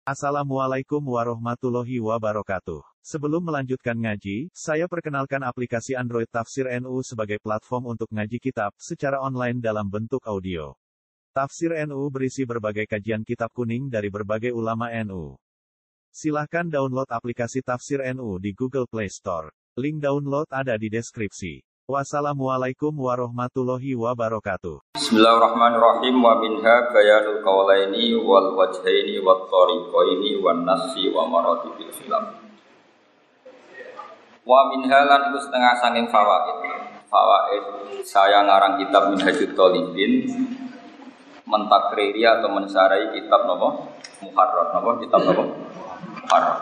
Assalamualaikum warahmatullahi wabarakatuh. Sebelum melanjutkan ngaji, saya perkenalkan aplikasi Android Tafsir NU sebagai platform untuk ngaji kitab secara online dalam bentuk audio. Tafsir NU berisi berbagai kajian kitab kuning dari berbagai ulama NU. Silahkan download aplikasi Tafsir NU di Google Play Store. Link download ada di deskripsi. Wassalamualaikum warahmatullahi wabarakatuh. Bismillahirrahmanirrahim. Wa minha bayanul qawlaini wal wajhaini wat tariqaini wan nafsi wa maratibil khilaf. Wa minha lan iku setengah saking fawaid. Fawaid saya ngarang kitab Minhajut Thalibin mentakriri atau mensarai kitab napa? Muharrar napa? Kitab napa? Muharrar.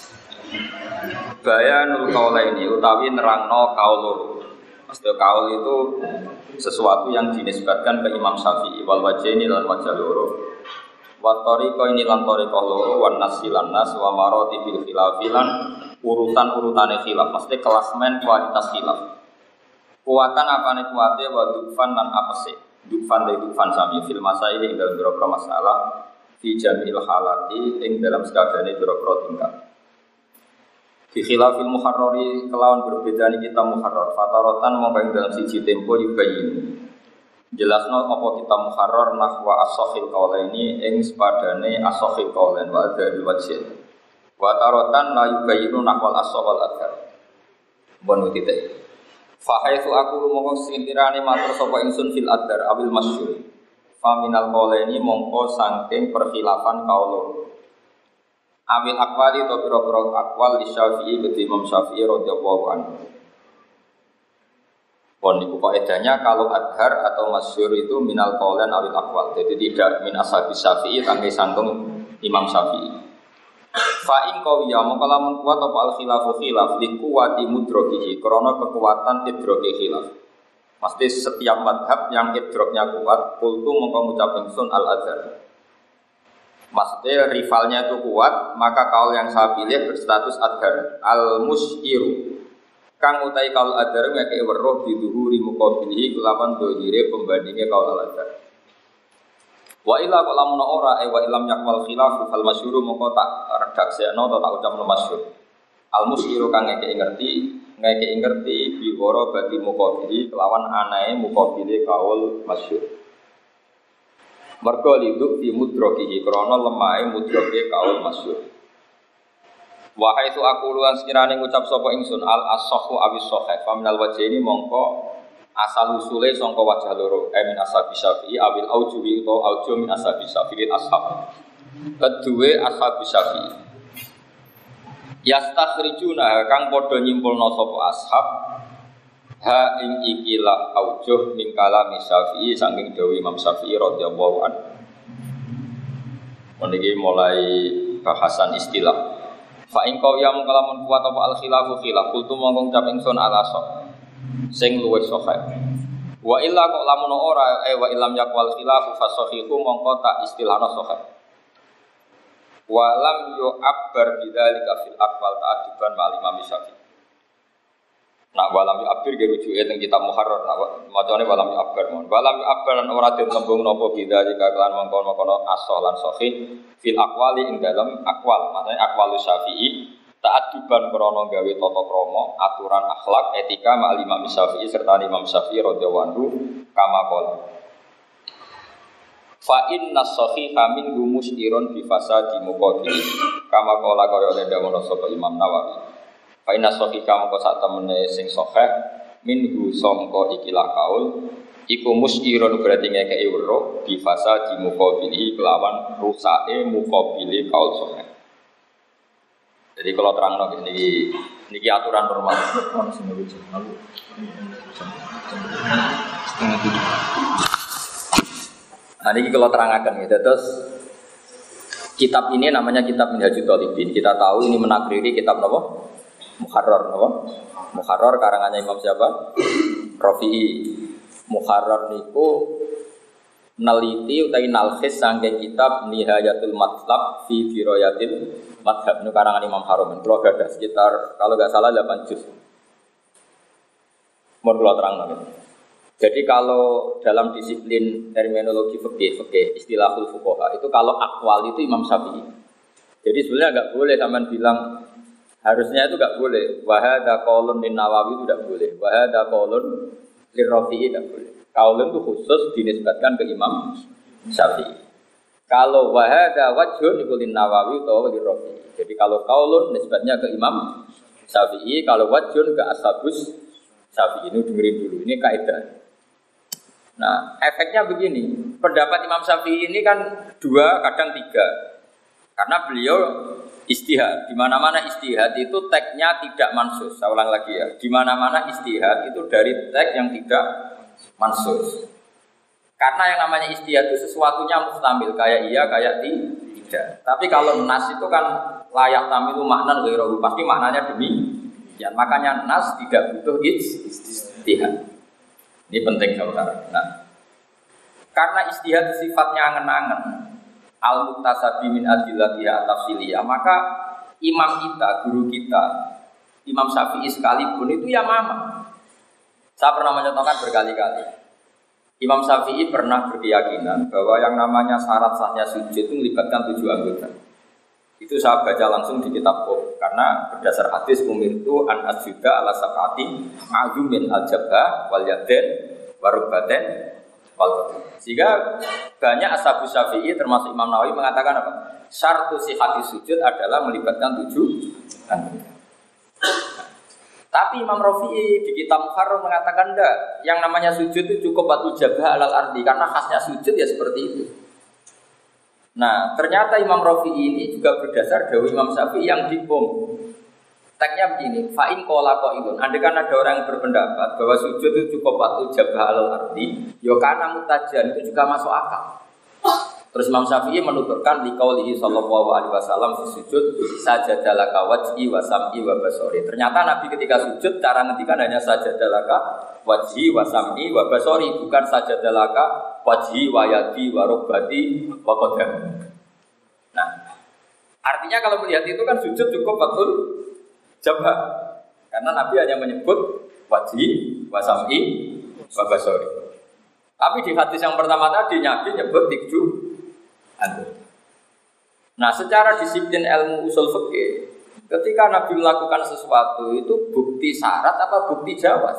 Bayanul qawlaini utawi nerangno kaul loro. Maksudnya kaul itu sesuatu yang dinisbatkan ke Imam Syafi'i wal wajhaini lan wajah loro wa tariqa ini lan tariqah loro wan nasi lan nas wa maratibil khilafilan urutan-urutane khilaf mesti klasmen kualitas khilaf kuatan apane kuate wa dufan lan apese dufan sami fil masail ing dalem beberapa masalah fi jamil halati ing dalam sakabehane beberapa tingkat. Di khilafil muharrari kelawan berbeda ni kita muharrar fatarotan mongko dalam siji tempo yubayin jelasno apa kita muharrar nahwa as-sahih qaulaini ing sepadane as-sahih qaulain wa dzal wajh wa tarotan la yubayinu nahwal as-sahal adhar bon titik fa haitsu aku mongko sintirane matur sapa ingsun fil adhar abil masyhur fa minal qaulaini mongko saking perkhilafan kaul Amil akwali atau pira-pira akwal di Syafi'i ke Imam Syafi'i radhiyallahu anhu. Pon niku kaidahnya kalau adhar atau masyhur itu minal qaulan awil akwal. Jadi tidak min ashabi Syafi'i tangge sanggung Imam Syafi'i. Fa in qawiya mongko lamun kuat apa al khilafu khilaf li quwati mudrokihi krana kekuatan idroke khilaf. Pasti setiap madhab yang idroknya kuat kultu mongko ngucap ingsun al adhar. Maksudnya rivalnya itu kuat, maka kaul yang saya pilih berstatus adhar al-musyiru kang utai kaul adhar ngeke weruh biduhuri muqabilihi kelawan dohire pembandingnya kaul al-adhar wa illa kok lamun ora wa ilam yakwal khilafu fal masyhuru mongko tak redaksekno atau tak ucapno masyhur al-musyiru kang ngeke ngerti biwara bagi muqabilihi kelawan anae muqabili kaul masyhur mergo liduk fi mudrokihi krana lemahe mudroke kaul masyhur. Wa haitsu aku luan sekirane ngucap sapa ingsun al as-sahhu awis sahih fa minal wajhaini mongko asal usule sangka wajah loro min ashabi Syafi'i awil aujuwi utawa auju min ashabi Syafi'i ashab. Kedue ashabi Syafi'i. Yastakhrijuna kang padha nyimpulna sapa ashab ha ing ikilah aujuh min kalami Syafi'i saking dawuh Imam Syafi'i radhiyallahu anhu. Meniki mulai bahasan istilah. Fa in qawiyam kalamun kuat apa al khilafu khilaf kultu mongko ngucap ingsun ala sah sing luwih sahih. Wa illa kok lamun ora wa illam yaqwal khilafu fasahihu mongko tak istilahna sahih. Wa lam yu'abbar bidzalika fil aqwal ta'adduban ma'al Imam Syafi'i. Nak walam yu'abbir ge rujuke teng kitab Muharrar nak macane walam yu'abbir mon. Walam yu'abbir lan ora den tembung napa bida jika kelan mongkon-mongkon asal lan sahih fil aqwali ing dalam aqwal. Maksudnya aqwalus Syafi'i ta'adduban krana gawe tata krama, aturan akhlak, etika ma'al Imam Syafi'i serta Imam Syafi'i radhiyallahu anhu kama qala. Fa inna sahiha min gumustirun bi fasadi muqaddimi. Kama qala kaya dawuh sapa Imam Nawawi. Fa inna sahika mongko sak temene sing sahih minhu sangka ikilah kaul iku musyirun berarti ngekeki weruh di fasa di muqabili kelawan rusake muqabili kaul sahih. Jadi kalau terangno niki aturan normal. Nah niki kalau terangaken gitu terus kitab ini namanya kitab Minhajut Thalibin. Kita tahu ini menakriri kitab napa? Muharrar apa? Muharrar karangannya Imam siapa? Rafi'i. Muharrar niku neliti utawi nalkhis saking kitab Nihayatul Matlab fi Dirayatil Madhab niku karangan Imam Harum. Kalau ada sekitar kalau enggak salah 8 juz. Mun kula terangno. Jadi kalau dalam disiplin terminologi fikih istilahul fuqaha itu kalau aqwal itu Imam Syafi'i. Jadi sebenarnya enggak boleh sampean bilang harusnya itu enggak boleh. Wa hadza qaulun lin Nawawi itu enggak boleh. Wa hadza qaulun lir Rafi'i enggak boleh. Qaulun itu khusus dinisbatkan ke Imam Syafi'i. Kalau wa hadza wajhun iku lin Nawawi utawa lir Rafi'i. Jadi kalau qaulun nisbatnya ke Imam Syafi'i, kalau wajhun ke ashabus Syafi'i. Ini dengerin dulu, ini kaidah. Nah, efeknya begini. Pendapat Imam Syafi'i ini kan 2, kadang 3. Karena beliau ijtihad. Di mana-mana ijtihad itu teksnya tidak mansus. Saya ulang lagi ya. Di mana-mana ijtihad itu dari teks yang tidak mansus. Karena yang namanya ijtihad itu sesuatunya mustamil, kayak iya, kayak tidak. Tapi kalau nas itu kan layak tamilu makna ghairuhu, pasti maknanya demikian. Makanya nas tidak butuh ijtihad. Ini penting saudara. Nah, karena ijtihad sifatnya angen-angen, al-muktasabi min adillatiha tafsiliyah, maka imam kita, guru kita, Imam Syafi'i sekalipun itu ya mama. Saya pernah mencontohkan berkali-kali. Imam Syafi'i pernah berkeyakinan bahwa yang namanya syarat sahnya sujud itu melibatkan 7 anggota. Itu saya baca langsung di kitab Qur'an karena berdasar hadis umirtu an asjuda ala sab'ati azumin al-jabha wal yaden warubaten wal batin. Sehingga banyak ashabu Syafi'i termasuk Imam Nawawi mengatakan apa? Syartu sihhati sujud adalah melibatkan 7 anggota. Tapi Imam Rafi'i di kitab Muharrar mengatakan enggak, yang namanya sujud itu cukup batu jabha alal ardi karena khasnya sujud ya seperti itu. Nah, ternyata Imam Rafi'i ini juga berdasar dari Imam Syafi'i yang dikom. Teksnya begini, fa'in qala qailun. Andaikan ada orang yang berpendapat bahwa sujud itu cukup batu jabha alal ardi, ya kana mutajan itu juga masuk akal. Terus Imam Syafi'i menuturkan liqaulihi sallallahu alaihi wasallam fi sujud sajadalaka wajhi wa sam'i wa basori. Ternyata Nabi ketika sujud cara ngendikan hanya sajadalaka wajhi wa sam'i wa basori, bukan sajadalaka wajhi wa yadi wa rubbati wa qadam. Nah, artinya kalau melihat itu kan sujud cukup betul jabha. Karena Nabi hanya menyebut wajhi wa sam'i wa basori. Tapi di hadis yang pertama tadi Nabi nyebut 7 anggota. Nah, secara disiplin ilmu usul fikih, ketika Nabi melakukan sesuatu itu bukti syarat apa bukti jawaz?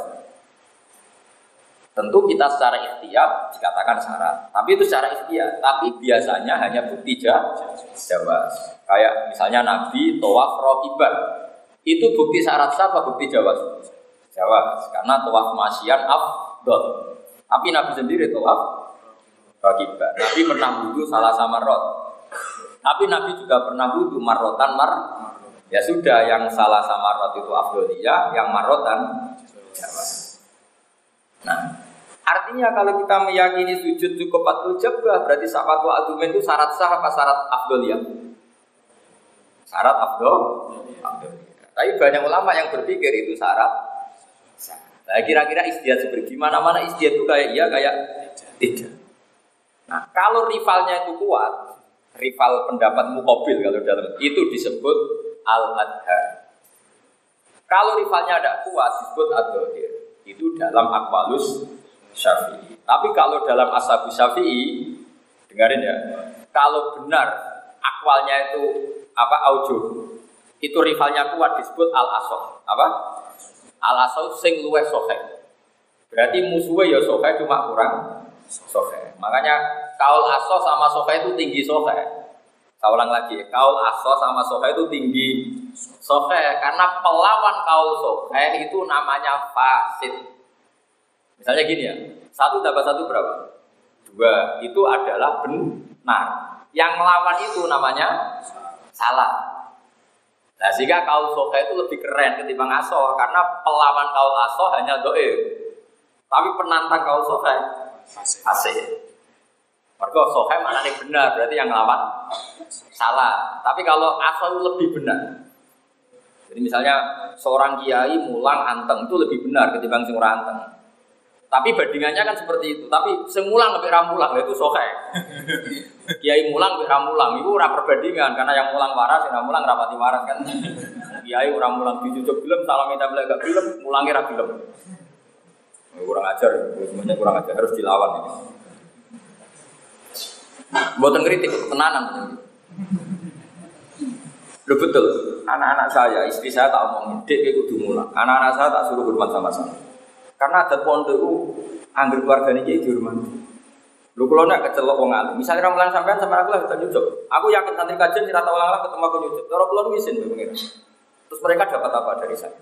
Tentu kita secara ikhtiyar dikatakan syarat, tapi itu secara ikhtiyar. Tapi biasanya hanya bukti jawaz. Kayak misalnya Nabi tawaf raqiban, itu bukti syarat apa bukti jawaz? Jawaz, karena tawaf masyian afdal. Tapi Nabi sendiri tawaf raqiban. Nabi pernah wudu salah sama marot. Tapi Nabi juga pernah wudu marrotan Ya sudah, yang salah sama marot itu afdoliyah, yang marrotan jawaz. Nah, artinya kalau kita meyakini sujud cukup fatul jabah, berarti syafatul adumen itu syarat sah apa syarat afdoliyah? Syarat afdoliyah. Tapi banyak ulama yang berpikir itu syarat sah. Nah, kira-kira istihad seperti mana-mana istihad itu kayak iya kayak tidak. Nah, kalau rivalnya itu kuat, rival pendapat muqabil kalau dalam itu disebut al-adhar. Kalau rivalnya tidak kuat disebut ad-dhahir. Itu dalam aqwalus Syafi'i. Tapi kalau dalam ashabu Syafi'i, dengarin ya. Kalau benar akwalnya itu apa aujuh, itu rivalnya kuat disebut al-asah. Apa? Al-asah sing luwih sahih. Berarti musuhnya ya sahih cuma kurang sahih. Makanya kaul aso sama sofa itu tinggi sofa. Saya ulang lagi, kaul aso sama sofa itu tinggi sofa karena pelawan kaul sofa itu namanya fasid. Misalnya gini ya, 1 tambah 1 berapa? 2, itu adalah benar. Yang melawan itu namanya salah. Nah, sehingga kaul sofa itu lebih keren ketimbang aso karena pelawan kaul aso hanya do'if. Tapi penantang kaul sofa fasih. Mergo soheh maknanya benar, berarti yang ngelawan salah. Tapi kalau asal lebih benar. Jadi misalnya seorang kiai mulang anteng itu lebih benar ketimbang sing ora anteng. Tapi bandingannya kan seperti itu. Tapi sing mulang lebih ramulang itu soheh. Kiai mulang lebih ramulang itu ora perbandingan karena yang mulang waras, yang mulang rapati waras kan. Kiai ora mulang dijujuk film, salam minta beli gak film, mulangnya ra film. Kurang ajar, semuanya kurang ajar, harus dilawan ini. Mboten kritik, tenanan. Loh betul, anak-anak saya, istri saya tak omongin, dek kayak kudu mulang. Anak-anak saya tak suruh hormat sama saya. Karena adat pondok itu, anggur keluarga ini jadi dihormati. Lu kalau nak kecelok wong alim, misalnya ramalan sampean sama aku lah kita nyucuk. Aku yakin santri kajian kita tahu lah ketemu aku nyucuk. Kalau keluar izin pengiran. Terus mereka dapat apa dari saya?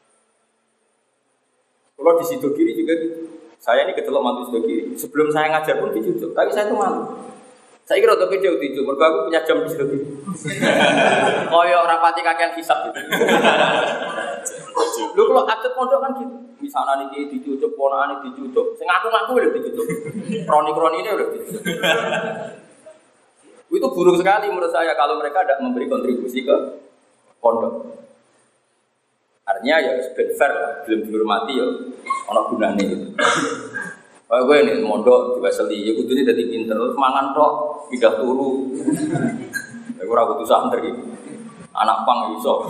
Kalau di situ kiri juga gitu. Saya ini kecelok mantu situ kiri. Sebelum saya ngajar pun dicucuk, tapi saya itu malu. Saya kira untuk video itu, mereka aku punya jam di situ. Koyo rapati kakean hisap gitu. Lu kalau adat pondok kan gitu. Misalnya nih dicucuk, ponakan dicucuk. Saya ngaku-ngaku udah dicucuk. Kroni-kroni ini udah dicucuk. Itu buruk sekali menurut saya kalau mereka tidak memberi kontribusi ke pondok. Artinya ya fair lah, belum dihormati ya. Ono gunane gitu. Kayak gue ini mondok diwaseli, ya kudunya jadi pinter, terus mangan tok, pindah turu. Ya gue ragu tuh santri, anak pang iso.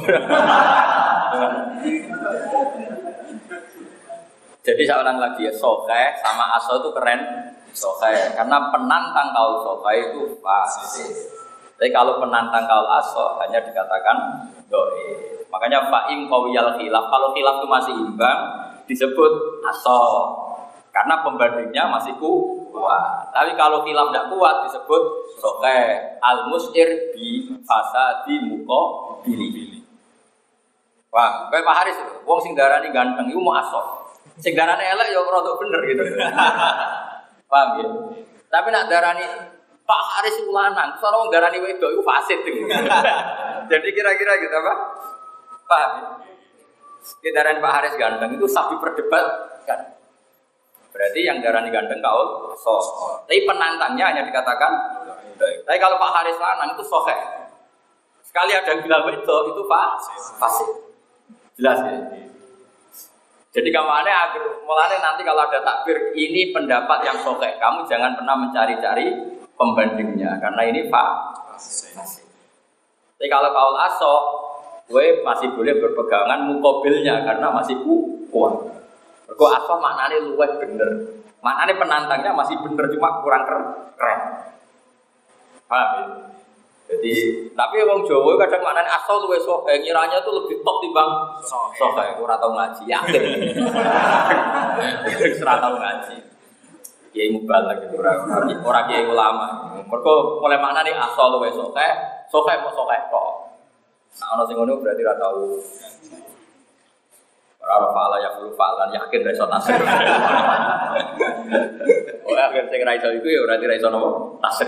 Jadi saya ulang lagi ya, sokai sama aso itu keren. Sokai, karena penantang kaul sokai itu pasti. Tapi kalau penantang kaul aso hanya dikatakan doi. Makanya fa'im qawiyal khilaf, kalau khilaf itu masih imbang disebut aso. Karena pembandingnya masih kuat. Tapi kalau khilaf tidak kuat disebut soke al-mus'ir bi fasadi muko bili. Wah, kayak Pak Haris itu, wong sing darani ganteng itu mau asok. Sing darani elek ya rodok bener gitu. Paham ya? Tapi nak darani Pak Haris itu lanang, soalnya wong darani wedok itu fasid gitu. Jadi kira-kira gitu apa? Paham ya? Kita darani Pak Haris ganteng itu sapi perdebatkan. Berarti yang darani ganteng kaul sos. Tapi penantangnya hanya dikatakan tapi kalau Pak Haris lanang itu soheh. Sekali ada yang bilang itu fasih. Jelas ya. Jadi kamarnya agar mulanya nanti kalau ada takbir ini pendapat yang soheh. Kamu jangan pernah mencari-cari pembandingnya karena ini fasih. Tapi kalau kaul aso, gue masih boleh berpegangan mukobilnya karena masih kuat. Mergo asal maknane luwih bener. Maknane penantangnya masih bener cuma kurang keren. Paham ya? Jadi, tapi wong Jawa kadang maknane asal luwih sok, ngiranya tuh lebih top timbang sok. Ora tau ngaji, yakin. Ora tau ngaji. Kiai mubalak gitu ora kiai ulama. Mergo mulai maknane asal luwih sok mau sok tok. Nah, ana sing ngono berarti ora tau. Orang fala ya perlu falan yakin reso tasir. Oh akhir saya reso itu ya berarti reso nopo tasir.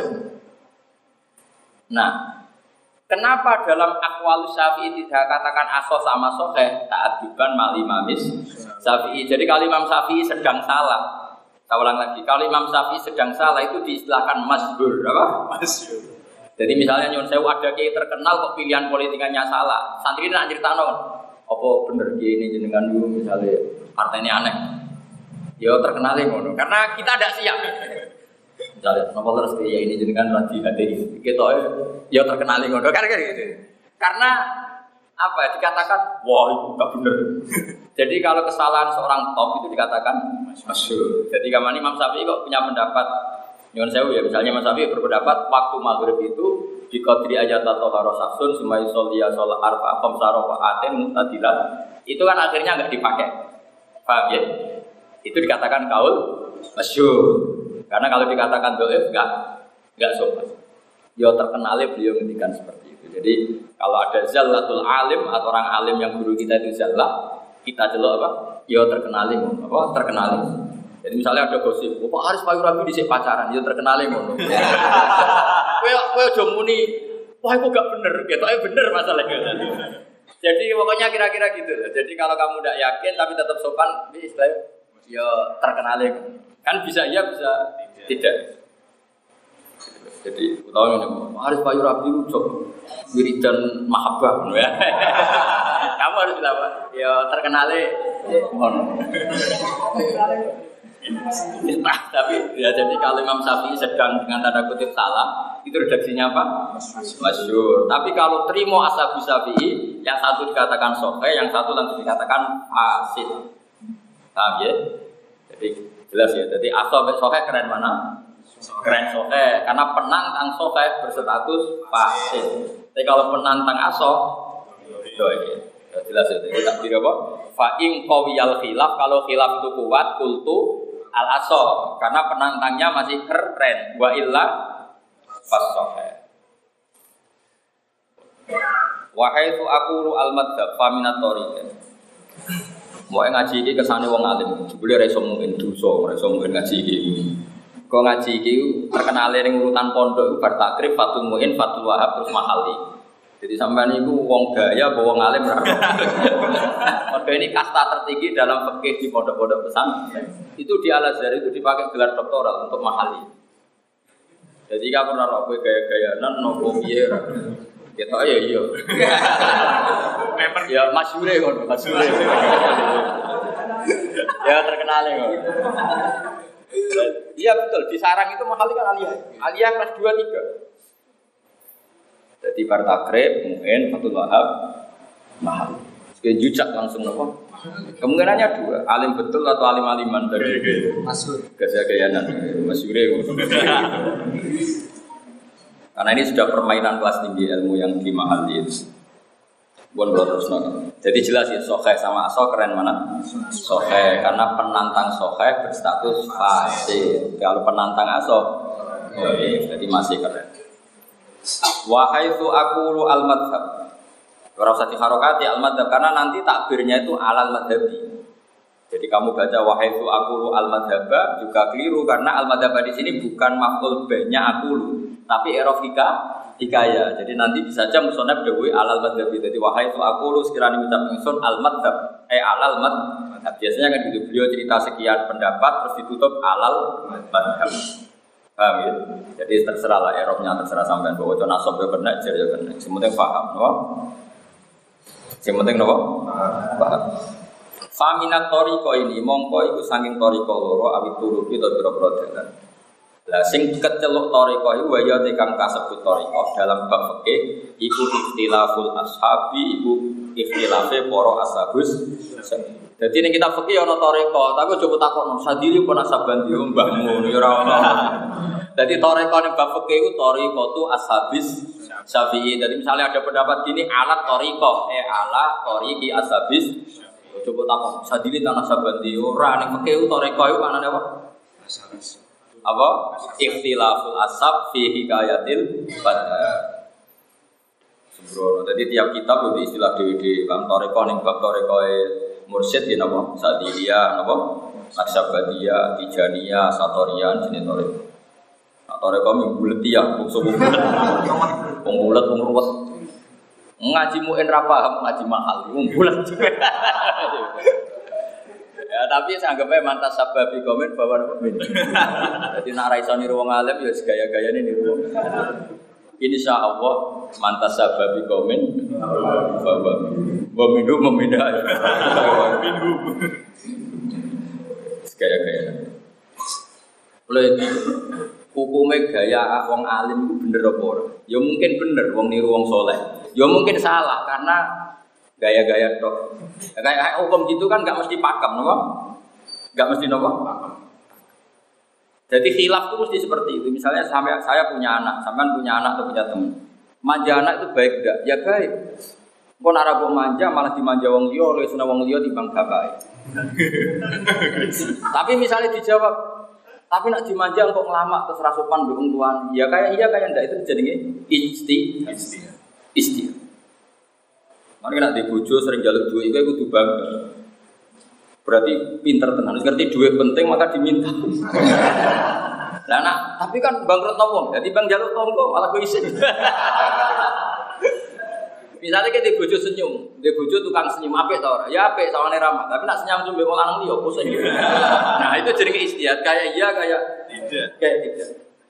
Nah, kenapa dalam akwal Syafi'i tidak katakan aso sama soheh ta'adiban mali mamis Syafi'i? Jadi kalau Imam Syafi'i sedang salah, saya ulang lagi, kalau Imam Syafi'i sedang salah itu diistilahkan masyhur, apa? Masyhur. Jadi misalnya nyuwun sewu ada kiai terkenal kok pilihan politikanya salah, santri nak critano. Apa bener ini jenengan dulu misalnya partainya aneh, ya terkenalnya ngono. Karena kita tidak siap. Misalnya, kenapa terus ya ini jenengan lagi hati kita ya terkenalnya ngono. Karena gitu. Karena apa? Dikatakan wah itu nggak bener. Jadi kalau kesalahan seorang top itu dikatakan masyhur. Jadi kamane Imam Syafi'i kok punya pendapat. Nyuwun sewu ya, misalnya Imam Syafi'i berpendapat waktu maghrib itu di qadri ajat atau harosaksun sumai solia sholat arfa komsaro faatin mutadilat itu kan akhirnya nggak dipakai, paham ya? Itu dikatakan kaul masyhur karena kalau dikatakan doif nggak sopan. Ya terkenalnya beliau ngendikan seperti itu. Jadi kalau ada zallatul alim atau orang alim yang guru kita itu zallah, kita celok apa? Ya terkenalnya apa? Terkenalnya. Jadi misalnya ada gosip, Pak Haris Payu Rabi dhisik pacaran, ya terkenalnya ngono. Kowe aja muni, wah itu gak bener, ketoknya bener masalahnya. Jadi pokoknya kira-kira gitu. Jadi kalau kamu tidak yakin tapi tetap sopan, ini istilahnya ya terkenalnya. Kan bisa iya, bisa tidak. Jadi utawa ini, Haris Payu Rabi ucap wiridan mahabbah ya. Kamu harus bilang apa? Ya terkenalnya ngono. Nah, tapi ya jadi kalau Imam Syafi'i sedang dengan tanda kutip salah, itu redaksinya apa? Masyhur. Tapi kalau terima ashabu Syafi'i, yang satu dikatakan sahih, yang satu langsung dikatakan fasid. Paham ya? Jadi jelas ya. Jadi asal sahih keren mana? keren sohe karena penantang sohe berstatus fasid. Tapi kalau penantang aso, jelas itu. Takdir apa? Fa in qawiyal khilaf, kalau khilaf itu kuat kultu al aso karena penantangnya masih keren. Wa illa fasohe. Wahai tu aku al madzhab faminat tariqah. Mau ngaji iki kesane wong alim, jebule ora iso mungkin dosa, ora iso mungkin ngaji iki. Kok ngaji iki terkenale ning urutan pondok iku bar takrif Fatul Muin, Fatul Wahab terus Mahali. Jadi sampean niku wong gaya apa wong alim ora. Mergo ini kasta tertinggi dalam fikih di pondok-pondok pesantren. Itu di Al-Azhar itu dipakai gelar doktoral untuk Mahali. Jadi kamu ora kowe gaya-gayanan nopo piye ora. Kita ya iya. Ya masyhure kon, masyhure. Ya terkenal kok. Iya betul, di sarang itu Mahali kan aliyah. Aliyah kelas 2 3. Jadi Bartakrib, Mu'in, Fatul Wahab, Mahal. Sekali jujak langsung apa? Kemungkinannya 2, alim betul atau alim-aliman dari Masyur. Gaya-gayanan, Masyure. Karena ini sudah permainan kelas tinggi ilmu yang di Mahal itu. Bukan terus nol. Jadi jelas ya, soheh sama aso keren mana? Soheh, karena penantang soheh berstatus fasid. Kalau penantang aso, jadi masih keren. Wahai tu aku al madhab. Ora usah diharokati al madhab karena nanti takbirnya itu alal madhabi. Jadi kamu baca wahai tu aku al madhaba juga keliru karena al madhaba di sini bukan maf'ul banyak akulu, tapi i'raf hikaya. Jadi nanti bisa aja musonab dewi alal madhabi. Jadi wahai tu aku sekiranya ucap ingsun al madhab alal madhab. Biasanya kan gitu beliau cerita sekian pendapat terus ditutup alal madhab. Paham ya? Jadi terserah lah Eropnya terserah sampean bawa contoh nasab ya kena jar ya kena. Sementing paham, no? Sementing no? Paham. Faminat toriko ini mongko iku saking toriko loro awit turu kita biro-biro dalan. Lah sing keceluk toriko iku waya tekang kasebut toriko dalam bab fikih iku ikhtilaful ashabi iku ikhtilafe para ashabus. Jadi ini kita fikih ana toriko, tapi coba takon sadiri pun asaban yo mbahmu yo ora ono. Jadi toriko ning bab fikih iku toriko tu ashabis Syafi'i. Jadi misalnya ada pendapat gini alat toriko, ala toriki ashabis. Coba takon sadiri tanah saban di ora ning fikih toriko iku maknane apa? Apa? Ikhtilaful ashab fi hikayatil badar. Sembrono. Jadi tiap kitab itu istilah dewe-dewe kan toriko ning bab torikoe mursyid ya napa Sadiliyah napa Naksabandiyah Tijaniyah Satorian jenenge toriko. Nah toriko mbulet ya bungsu bulet ruwet. Ngaji muin ra paham ngaji mahal bulet. Ya tapi saya anggap aja mantas sababi komen bahwa min. Jadi nak ra iso niru wong alim ya gaya-gayane niru. Insya Allah mantas sababi komen bahwa minum memindah minum gaya-gaya oleh hukumnya gaya wong alim itu bener apa ora? Ya mungkin bener wong niru wong soleh ya mungkin salah karena gaya-gaya tok kayak hukum gitu kan gak mesti pakem no? Gak mesti no? Jadi khilaf itu mesti seperti itu. Misalnya saya punya anak, sampean punya anak atau punya teman. Manja anak itu baik enggak? Ya baik. Kok ora mbok manja malah dimanja wong liya, oleh seneng wong liya timbang bapake. Tapi misalnya dijawab, tapi nak dimanja kok ngelamak terus rasupan mbek wong tuan. Ya kayak ndak itu jenenge isti. Mari nak di bojo sering njaluk duit iku kudu bangga. Berarti pinter tenan, ngerti duit penting maka diminta. Lah nak, tapi kan bangkrut wong, jadi bang jaluk tonggo malah kowe isin. Misalnya kita di bojo senyum, di bojo tukang senyum apik ta ora? Ya apik sawane ramah, tapi nak senyum mbek wong lanang liya pusing. Nah, itu jenenge istihad kayak iya kayak tidak. Kayak tidak.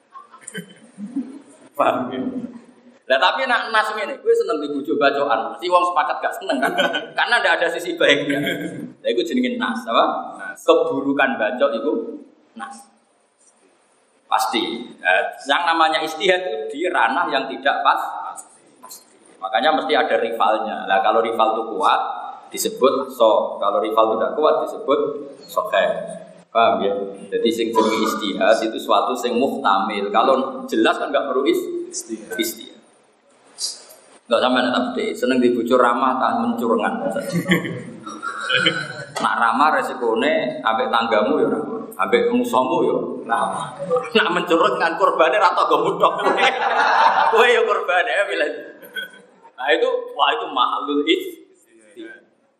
Paham ya? Lah tapi nak nas ngene, kowe seneng di bojo bacokan, mesti wong sepakat gak seneng kan? Karena ndak ada sisi baiknya. Lah iku jenenge nas, apa? Keburukan bacok itu nas. Pasti. Yang namanya istihad itu di ranah yang tidak pasti. Makanya mesti ada rivalnya. Lah kalau rival itu kuat disebut so, kalau rival itu tidak kuat disebut sokai. Paham ya? Jadi sing jenenge istihad itu suatu sing muhtamil. Kalau jelas kan enggak perlu istihad. Enggak sampean tak bedhe, seneng dibujuk ramah tak mencurengan. Nak ramah resikone ambek tanggamu ya ramah, ambek musuhmu ya ramah. Nak mencurengkan korbane ra tau mutok. Kowe ya korbane milih. Nah itu mahalul istihad.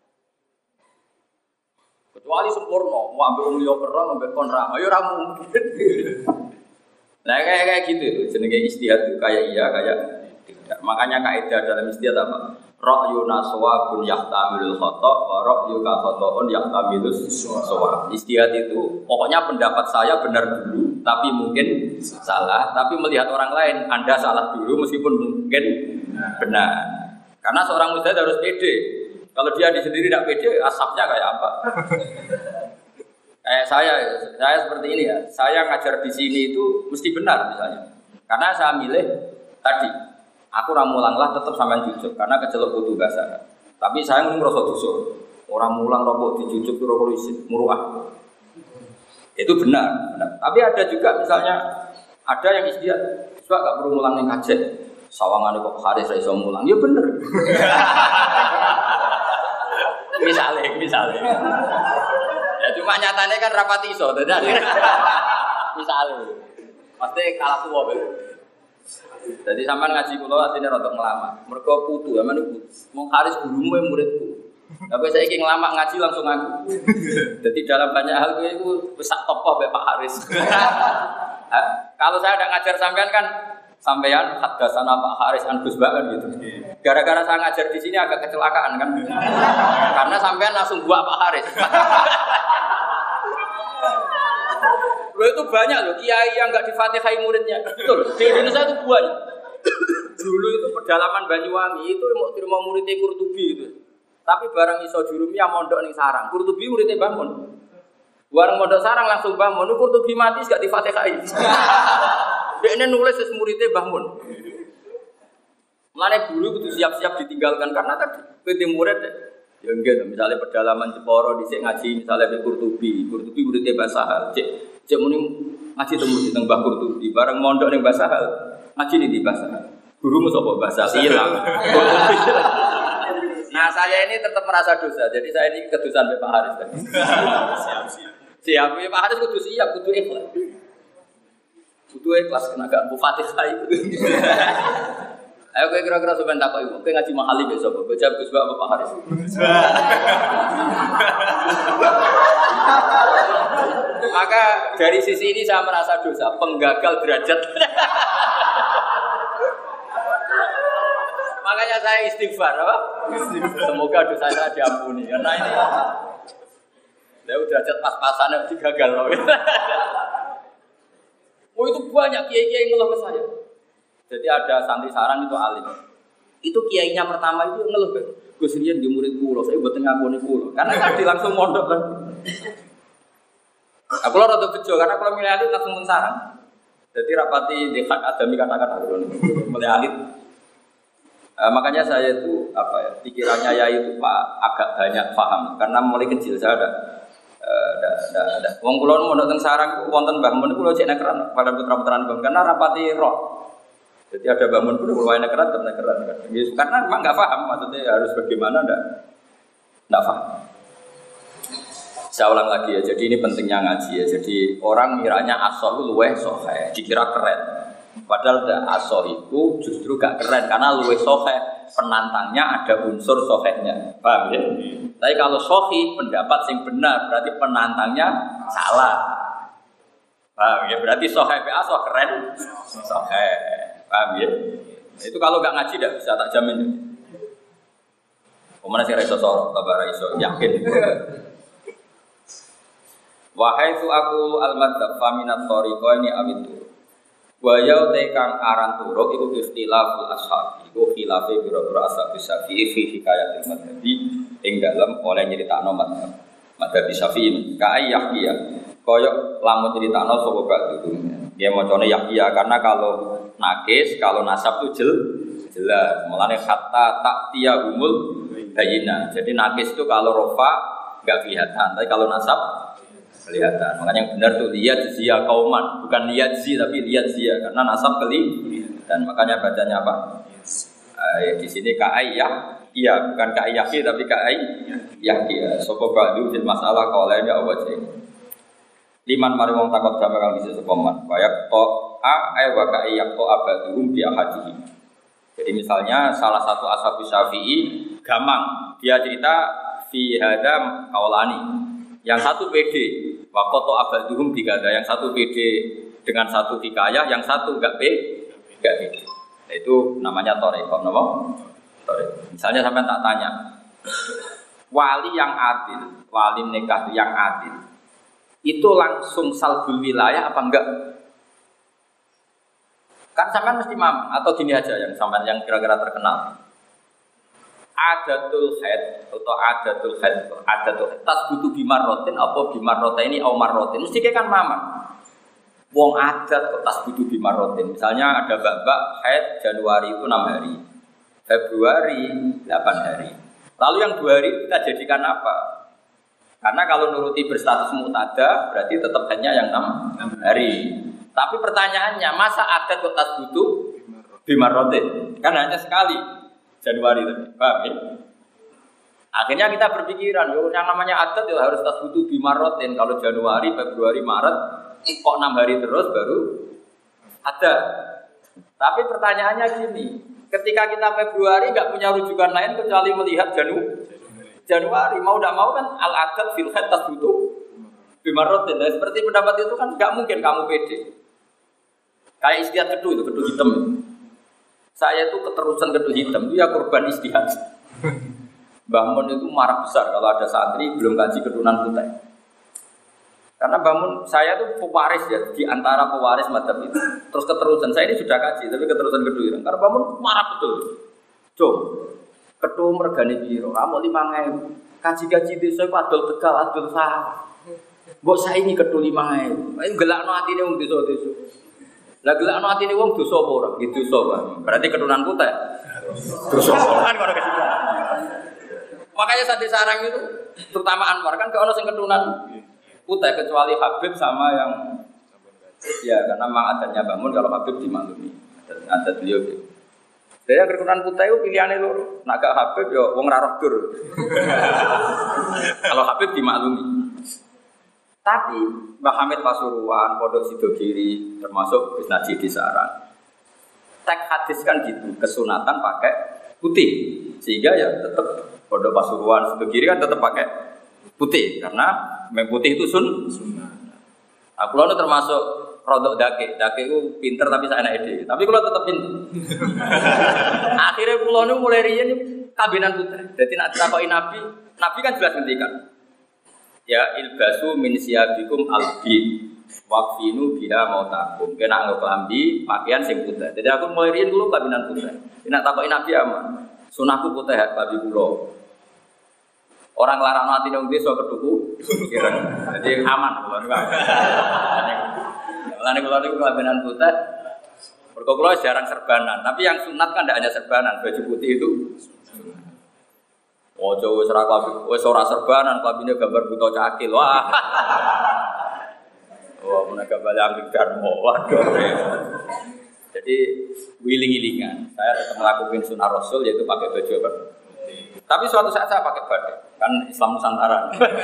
Kecuali sempurna, mau ambil umum yo perang, ambil konra, ayo ramu. Nah kayak gitu itu, jenenge istihad itu kayak iya kayak tidak. Makanya kaidah dalam istihad apa? Ra'yuna shawabun yahtamilul khata' wa ra'yuka khata'un yahtamilus shawab. Istihad itu pokoknya pendapat saya benar dulu, tapi mungkin salah. Tapi melihat orang lain, Anda salah dulu meskipun mungkin benar. Karena seorang mujtahid harus pede. Kalau dia di sendiri tidak pede, asapnya kayak apa? Kayak saya seperti ini ya. Saya ngajar di sini itu mesti benar misalnya. Karena saya milih tadi, aku ramulanglah tetap sampean jujuk karena kecelok butuh bahasa. Tapi saya ngerasa dosa. Orang mulang rokok dijujuk itu rokok isin, muruah. Itu benar. Tapi ada juga misalnya ada yang istihad, coba gak perlu mulang yang kajet. Sawangan kok Haris ra iso mulang. Ya bener. Misalnya. Ya cuma nyatanya kan rapati iso, misalnya. Pasti kalah tua bener. Jadi sampean ngaji kula asline rada ngelama. Mergo putu, sampean iku mung Haris gurumu muridku. Tapi saya ingin ngelama ngaji langsung aku. Jadi dalam banyak hal kowe iku wis sak topoh mbek Pak Haris. Kalau saya ada ngajar sampean kan sampean hadasana Pak Haris an Gus Bak gitu. Gara-gara saya ngajar di sini agak kecelakaan kan. Karena sampean langsung buat Pak Haris. Loh itu banyak loh kiai yang enggak difatihai muridnya. Betul. Di Indonesia itu banyak. Dulu itu pedalaman Banyuwangi itu mau terima muridnya Qurtubi itu. Tapi barang iso jurumiyah mondok ning sarang. Qurtubi muridnya bangun. Barang mondok sarang langsung bangun. Qurtubi mati enggak difatihai. Dia nulis muridnya bangun. Mulane dulu kudu siap-siap ditinggalkan karena tadi PT murid ya enggak misalnya pedalaman Jeporo dhisik ngaji misalnya di Qurtubi muridnya Basahal. Cek muni ngaji temu di Mbah Qurtubi bareng mondok ning Basahal. Ngaji di Basahal. Gurumu sapa Basahal hilang. Nah, saya ini tetap merasa dosa. Jadi saya ini kedusan Pak Haris tadi. Siap. Pak Haris kudu siap, kudu ikhlas. Kudu ikhlas kena gak Bu Fatihah itu. Ayo kowe kira-kira sampean takok ibu, kowe ngaji mahali besok, baca Gus Bak apa Pak Haris? Maka dari sisi ini saya merasa dosa, penggagal derajat. Makanya saya istighfar, apa? Semoga dosa saya diampuni. Karena ini, saya derajat pas-pasan yang digagal loh. Oh itu banyak kiai-kiai yang ngeluh ke saya. Jadi ada santri sarang itu alim. Itu kiainya pertama itu ngeluh kan. Gus Rian di murid kulo, saya buat ngakoni kulo. Karena tadi langsung mondok kan. Aku lo rada bejo karena kalau milih alit langsung sarang. Jadi rapati di hak adami kata-kata dulu milih alit. Makanya saya itu apa ya pikirannya ya itu Pak agak banyak paham karena mulai kecil saya ada. Wong kula mondok teng sarang wonten Mbah Mun kula cek nekeran pada putra-putraan Mbah karena rapati roh. Jadi ada Mbah Mun kula wae nekeran kan. Karena memang enggak paham maksudnya harus bagaimana enggak paham. Saya ulang lagi ya. Jadi ini pentingnya ngaji ya. Jadi orang miranya asoh luweh sohe dikira keren. Padahal asoh itu justru gak keren karena luweh sohe penantangnya ada unsur sohehnya. Paham ya? Tapi kalau sohi pendapat yang benar berarti penantangnya salah. Paham ya? Berarti sohe PA soh keren sohe. Paham ya? Itu kalau gak ngaji tidak bisa tak jamin. Kemana sih raiso sorok kabar raiso yakin. Wahai tu aku al-madzhab faminat thariqa ini awitu. Wa ya tekang aran turuk iku ikhtilaful ashab. Iku khilafe biro-biro ashab Syafi'i fi hikayatil madzhabi ing dalem oleh nyeritakno madzhab. Madzhab Syafi'i ka Yahya. Koyok lamun nyeritakno sapa ba'du. Dia macane Yahya karena kalau nakis, kalau nasab itu jelas. Mulane hatta ta'tiyahumul bayyinah. Jadi nakis itu kalau rofa enggak kelihatan, tapi kalau nasab kelihatan. Makanya yang benar tuh lihat zia kauman, bukan lihat zi tapi lihat zia karena nasab kelihatan. Makanya bacanya apa? Di sini kai ya, iya bukan kai yaki tapi kai yaki. Sopo badu fil masalah qaulaini aw wajhain. Liman mari wong takut drama kang bisa sepaman. Bayak to wa kai yak to abaduhum bi ahadihi. Jadi misalnya salah satu ashab Syafi'i gamang, dia cerita fi hada qaulani. Yang satu PD, wa qata abaduhum bi kada. Yang satu PD dengan satu hikayah, yang satu enggak PD. Nah, itu namanya thariqah, napa? Thariqah. Misalnya sampai tak tanya, wali yang adil, wali nikah yang adil, itu langsung salbul wilayah apa enggak? Kan sampean mesti mampu atau gini aja yang sampean yang kira-kira terkenal. Adatul haid atau adatul tasbutu bimarrotin apa bimarrotaini au marrotin mesti kan mama. Wong adat kok tasbutu bimarrotin. Misalnya ada babak haid Januari itu 6 hari. Februari 8 hari. Lalu yang 2 hari kita jadikan apa? Karena kalau nuruti berstatus mutada berarti tetap hanya yang 6 hari. Tapi pertanyaannya, masa adat kok tasbutu bimarrotin? Kan hanya sekali Januari tadi, paham ya? Akhirnya kita berpikiran, yang namanya adat ya harus tasbutu bimarrotin. Kalau Januari, Februari, Maret, kok 6 hari terus baru ada. Tapi pertanyaannya gini, ketika kita Februari nggak punya rujukan lain kecuali melihat Januari, mau tidak mau kan al-adat fil haid tasbutu bimarrotin. Nah, seperti pendapat itu kan nggak mungkin kamu pede. Kayak istiad kedu itu, kedu hitam. Saya itu keterusan kedu hitam, itu ya korban istihad. Bangun itu marah besar kalau ada santri belum kaji keturunan putih. Karena bangun saya itu pewaris ya di antara pewaris madzhab itu. Terus keterusan saya ini sudah kaji, tapi keterusan kedu hitam. Karena bangun marah betul. Jom, kedu mergane biro, kamu 5.000. Kaji-kaji desa padol Tegal, adol sawah. Mbok saiki kedu 5.000. Ayo gelakno atine wong desa-desa. Lah gelakno atine wong dosa apa ora? Gitu dosa, berarti keturunan putih. Dosa kan ora kesimpulan. Makanya santri sarang itu, terutama Anwar kan gak ono sing keturunan putih kecuali Habib sama yang ya karena memang adatnya bangun kalau Habib dimaklumi. Adat beliau gitu. Saya keturunan putih itu pilihannya lho, nak gak Habib ya wong ra roh dur. Kalau Habib dimaklumi. Tapi Mbah Hamid Pasuruan, Pondok Sidogiri, termasuk Gus Najih di Sarang, teks hadis kan gitu, kesunatan pakai putih, sehingga ya tetap Pondok Pasuruan, Sidogiri kan tetap pakai putih, karena memang putih itu sunnah. Aku lalu termasuk rodok dake itu pinter tapi saya enak ide, tapi kalau tetap pinter. Akhirnya pulau nu mulai rian kabinan putih, jadi nak takoki Nabi kan jelas ngendikan. Ya ilbasu min siyabikum albi waqfinu biha mautakum. Kena nggo klambi pakaian sing putih. Jadi aku mulai riyen dulu kabinan putih. Nek takoki Nabi aman. Sunahku putih babi kula. Orang larang atine wong desa keduku. Jadi aman kula niku. Lan kula niku kabinan putih. Mergo kula jarang serbanan, tapi yang sunat kan ndak hanya serbanan, baju putih itu. Ojo wis ora kabeh, wis ora serbanan, kabine gambar buta cakil. Wah. Wah, menawa bali ambek darmo. Waduh. Jadi wiling-wilingan. Saya tetap melakukan sunnah Rasul yaitu pakai baju apa? Tapi suatu saat saya pakai batik. Kan Islam Nusantara.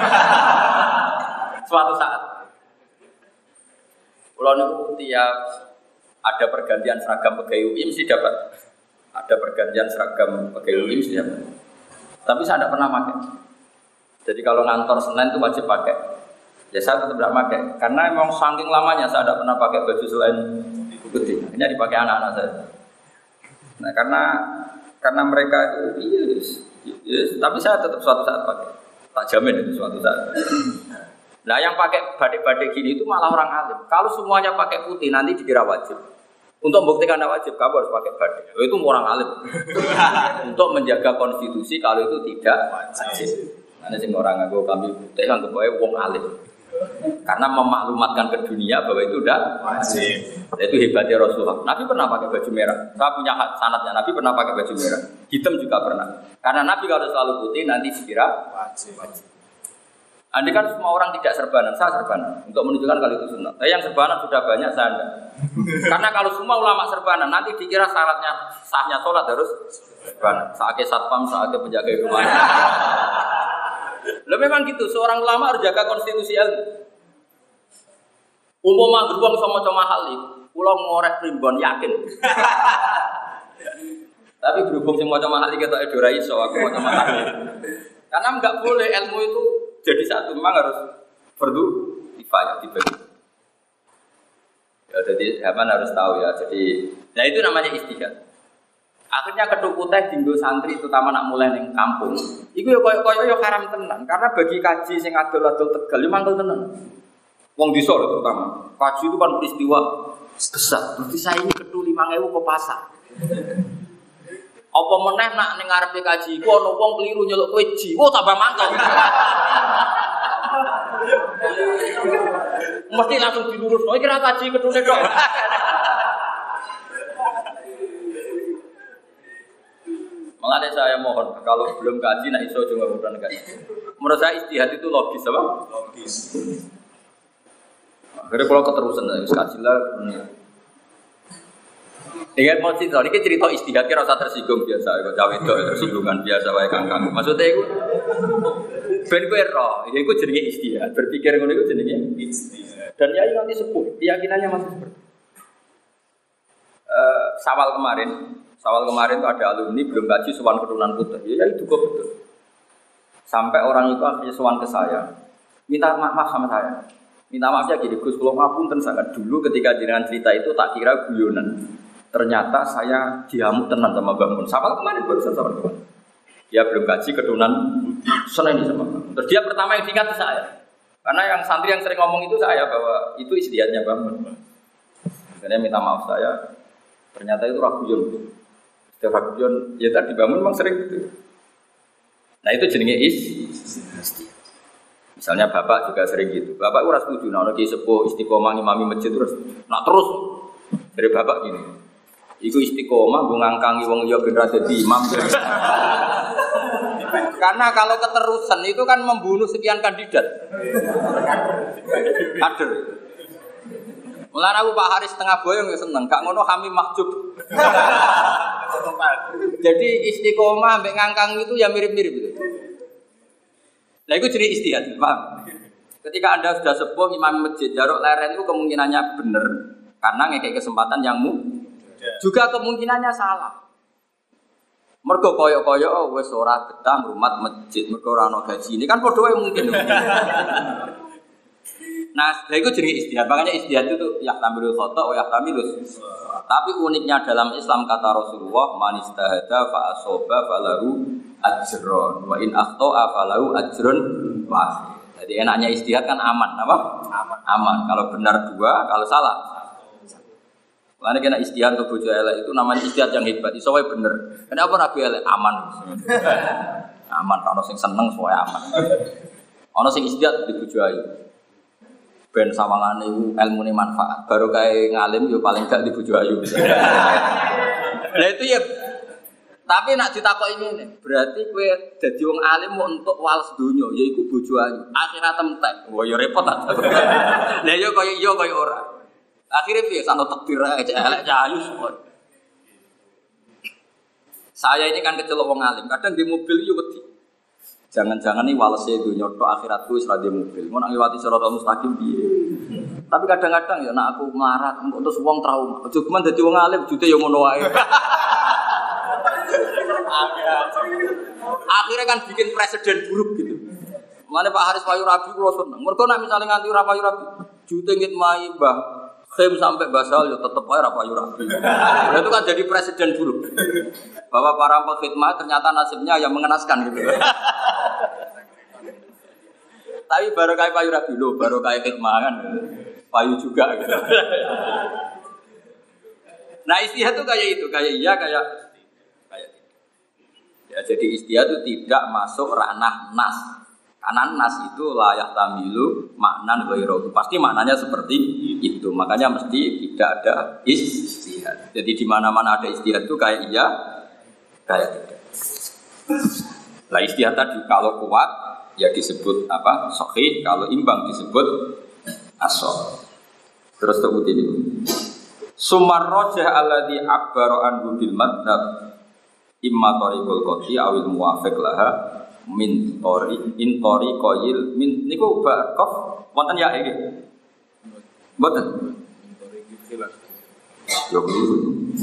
Suatu saat. Kalau niku tiap ada pergantian seragam pegawai UI mesti dapat. Ada pergantian seragam pegawai UI mesti dapat. Tapi saya tidak pernah pakai. Jadi kalau ngantor Senin itu wajib pakai. Ya saya tetap tidak pakai. Karena memang saking lamanya saya tidak pernah pakai baju selain putih. Ini dipakai anak-anak saya. Nah karena mereka itu yes, tapi saya tetap suatu saat pakai. Tak jamin itu suatu saat. Nah yang pakai badik-badik gini itu malah orang alim. Kalau semuanya pakai putih nanti dikira wajib. Untuk membuktikan anda wajib, kamu harus pakai badik. Itu orang alim. Untuk menjaga konstitusi kalau itu tidak wajib. Karena semua orang ngaku kami putih kan kebawa wong alim. Karena memaklumatkan ke dunia bahwa itu tidak wajib. Itu hebatnya Rasulullah. Nabi pernah pakai baju merah. Saya punya sanadnya. Nabi pernah pakai baju merah. Hitam juga pernah. Karena Nabi kalau selalu putih nanti dikira wajib. Andai kan semua orang tidak serbanan, saya serbanan untuk menunjukkan kalau itu sunnah. Tapi yang serbanan sudah banyak, saya enggak. Karena kalau semua ulama serbanan, nanti dikira syaratnya sahnya sholat harus serbanan. Saatnya satpam, saatnya penjaga rumah. Loh memang gitu, seorang ulama harus jaga konstitusi ilmu. Umpama beruang sama mahal itu, pulau ngorek primbon yakin. Tapi berhubung semua mahal itu kita edora iso, aku mau mahal. Karena enggak boleh ilmu itu jadi satu, memang harus fardu kifayah dibagi. Ya, jadi Haman harus tahu ya. Jadi, nah itu namanya ijtihad. Akhirnya kethuku teh dinggo santri terutama nak mulai ning kampung. Iku ya koyo-koyo ya haram tenan. Karena bagi kaji sing adol-adol Tegal ya mangkel tenan. Wong desa terutama. Kaji itu kan peristiwa besar. Berarti saya ini kethu 5.000 ke pasar. Apa meneh nak ning ngarepe kaji iku ana wong keliru nyeluk kowe ji. Oh tambah mangkel. Mesti langsung dilurus. Oh iki ra kaji ketune tok. Malah saya mohon kalau belum kaji nak iso juga mudah kaji. Menurut saya ijtihad itu logis apa? Logis. Akhirnya kalau keterusan ya kaji lah. Ingat mau cerita, ini cerita ijtihad kira rasa tersinggung biasa, kok cawe itu tersinggungan biasa wae kangkang. Maksudnya itu ben kowe roh, ya iku jenenge ijtihad. Berpikir ngono iku jenenge ijtihad. Dan yai nanti sepuh, keyakinannya masih seperti. Sawal kemarin itu ada alumni belum kaji sowan keturunan putra. Ya itu kok betul. Sampai orang itu akhirnya sowan ke saya, minta maaf sama saya. Minta maafnya gini, Gus, kalau ngapunten sangat dulu ketika jenengan cerita itu tak kira guyonan. Ternyata saya diamuk tenan sama Mbak Mun. Sawal kemarin barusan sawal kemarin. Dia belum kaji keturunan seneng di sama. Terus dia pertama yang diingat saya. Karena yang santri yang sering ngomong itu saya bahwa itu ijtihadnya Mbak Mun. Akhirnya minta maaf saya. Ternyata itu raguyon. Setiap raguyon ya tadi Mbak Mun memang sering gitu. Nah itu jenenge ijtihad. Misalnya bapak juga sering gitu. Bapak ora setuju nek ki sepuh istiqomah ngimami masjid terus. Nah terus dari bapak gini. Iku istiqomah gue ngangkangi wong liya ben ra dadi imam. Karena kalau keterusan itu kan membunuh sekian kandidat. Kader. Mulane aku Pak Haris tengah boyong ya seneng, gak ngono Hamim Mahjub. Jadi istiqomah mbek ngangkang itu ya mirip-mirip itu. Nah itu jadi ijtihad, paham? Ketika Anda sudah sepuh imam masjid jaruk leren itu kemungkinannya benar karena ngekek kesempatan yang juga kemungkinannya salah. Mergo koyo-koyo wis ora betah ngrumat masjid, mergo ora ana gaji. Ini kan padha wae mungkin. Nah, lha iku jenenge ijtihad. Makanya ijtihad itu yahtamilul khata wa yahtamilus. Tapi uniknya dalam Islam kata Rasulullah, man istahada fa asaba falahu ajrun wa in akhta'a falahu ajrun wahid. Jadi enaknya ijtihad kan aman, apa? Aman. Kalau benar dua, kalau salah. Karena kena ijtihad untuk bojo elek itu namanya ijtihad yang hebat. Iso wae bener. Kenapa rabi elek aman? Aman, ana sing seneng soe aman. Ana sing ijtihad di bojo ayu. Ben sawangane iku ilmune manfaat. Baru kae ngalim yo paling gak di bojo ayu. Lah itu ya. Tapi nak ditakoki ngene, berarti kowe dadi wong alim mau entuk wales donya yaiku bojo ayu. Akhirat entek. Wah ya repot ta. Lah yo koyo ora. Akhirnya piye santo takdir aja elek ayu semua. Saya ini kan kecelok wong alim, kadang di mobil yo wedi. Jangan-jangan nih walese donya tok akhiratku wis ra di mobil. Mun ngliwati siratal mustaqim piye. Tapi kadang-kadang ya nek aku melarat terus wong trauma. Aja cuman dadi wong alim jute yo ngono wae. Akhirnya kan bikin presiden buruk gitu. Mulane Pak Haris Payu Rabi kula seneng. Mergo nek misale nganti ora Payu Rabi, jute ngit mai Mbah Khem sampai basal ya tetep ae ra Payu Rabi. Nah, itu kan jadi presiden buruk. Bahwa para pengkhidmat ternyata nasibnya yang mengenaskan gitu. Tapi baru kayak Payu Rabi lho, baru kayak khidmat kan. Payu juga gitu. Nah, ijtihad itu kayak itu, kayak iya kayak ya, jadi ijtihad itu tidak masuk ranah nas. Karena nas itu layak tamilu maknan ghairu. Pasti maknanya seperti itu. Makanya mesti tidak ada ijtihad. Jadi di mana-mana ada ijtihad itu kayak iya, kayak tidak. Lah ijtihad tadi kalau kuat ya disebut apa? Sahih, kalau imbang disebut as-sahih. Terus terbukti ini. Sumar rajah alladzi abbara anhu bil madhab imma tariqul qati awil muwafiq laha min tariqil min niku baqaf wonten ya iki. Mboten. Ya keliru.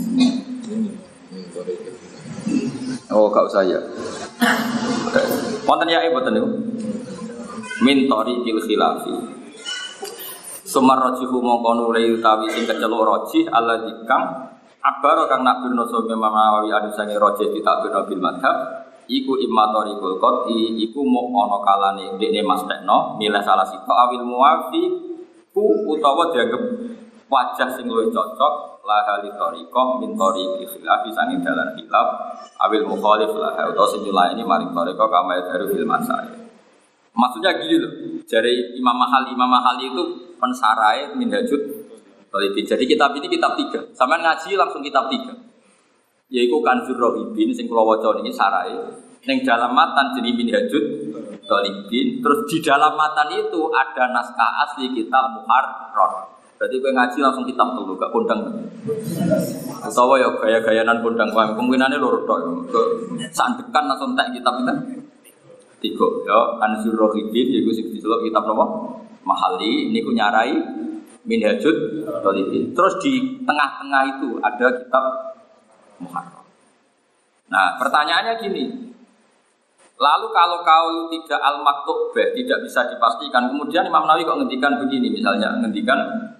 Oh, gak usah ya. Wonten ya mboten niku. Min tariqil khilafi. Sumar rajihu mongko nulai utawi sing keceluk rajih alladzi kang abaro kang nakbirno sapa Nawawi adu sange rajih ditakbirno bil madhab iku imma tariqul qati iku mok ana kalane dekne mastekno milih salah sito awil muwafi ku utawa dianggep wajah sing luwih cocok la hali tariqah min tariqi khilafi sange dalan khilaf awil mukhalif la utawa sing nyulaini maring tariqah kama daru fil masail. Maksudnya gini loh, dari Imam Mahali itu pensarai Minhajut Thalibin. Jadi kitab ini kitab 3. Sampeyan ngaji langsung kitab 3. Yaitu Kanzur Rohibin sing kula waca niki sarai. Ning dalam matan jenenge Minhajut Thalibin. Terus di dalam matan itu ada naskah asli kitab Muharrar. Berarti kowe ngaji langsung kitab 3, gak kondang. Utawa ya gaya-gayanan kondang wae. Kemungkinane loro tok. Sandekan langsung tak kitab itu. 3 ya Kanzur Rohibin yaiku sing diceluk kitab napa? Mahali niku nyarai Minhajut Thalibin. Terus di tengah-tengah itu ada kitab Muharrar. Nah, pertanyaannya gini. Lalu kalau kau tidak al-maktubah, tidak bisa dipastikan, kemudian Imam Nawawi kok ngendikan begini, misalnya ngendikan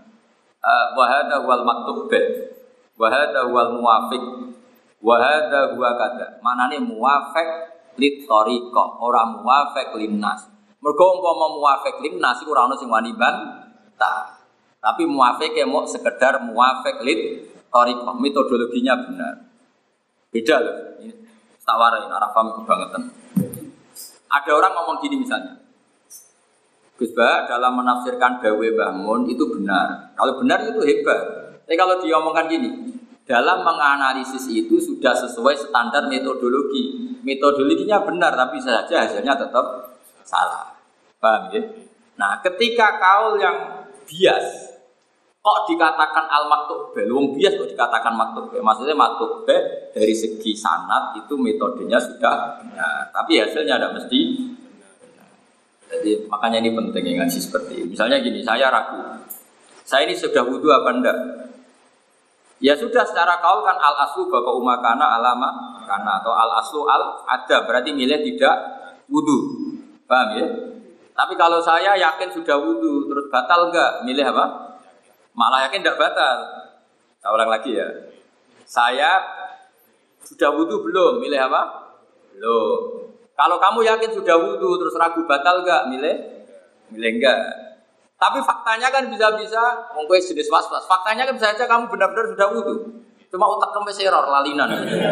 wa hadza wal maktubah, wa hadza wal muwafiq, wa hadza huwa kada. Manane muwafiq lit tariqah, ora muwafiq linnas. Mergo umpama muwafiq linnas iku ora ono sing wani bantah. Tapi muwafiq mok sekedar muwafiq lit tariqah, metodologinya benar. Beda loh. Ini tak warai ora paham kebangetan. Ada orang ngomong gini misalnya. Gus Ba dalam menafsirkan dawe Mbah Mun itu benar. Kalau benar itu hebat. Tapi kalau diomongkan gini, dalam menganalisis itu sudah sesuai standar metodologi. Metodologinya benar, tapi saja hasilnya tetap salah. Paham ya? Nah, ketika kaul yang bias, kok dikatakan al-maktubah? Wong bias kok dikatakan maktubah? Maksudnya maktubah dari segi sanad itu metodenya sudah benar, tapi hasilnya tidak mesti benar. Jadi makanya ini penting ngaji seperti ini. Misalnya gini, saya ragu, saya ini sudah wudu apa enggak? Ya sudah, secara kaul kan al-aslu bapak umakana alama kana atau al-aslu al-ada, berarti milih tidak wudu. Paham ya? Tapi kalau saya yakin sudah wudu, terus batal enggak? Milih apa? Malah yakin tidak batal. Saya ulang lagi ya. Saya sudah wudu belum? Milih apa? Belum. Kalau kamu yakin sudah wudu, terus ragu batal enggak? Milih enggak. Tapi faktanya kan bisa-bisa, mungkin jenis was-was. Faktanya kan bisa saja kamu benar-benar sudah wudu. Cuma otak kamu error, lalinan.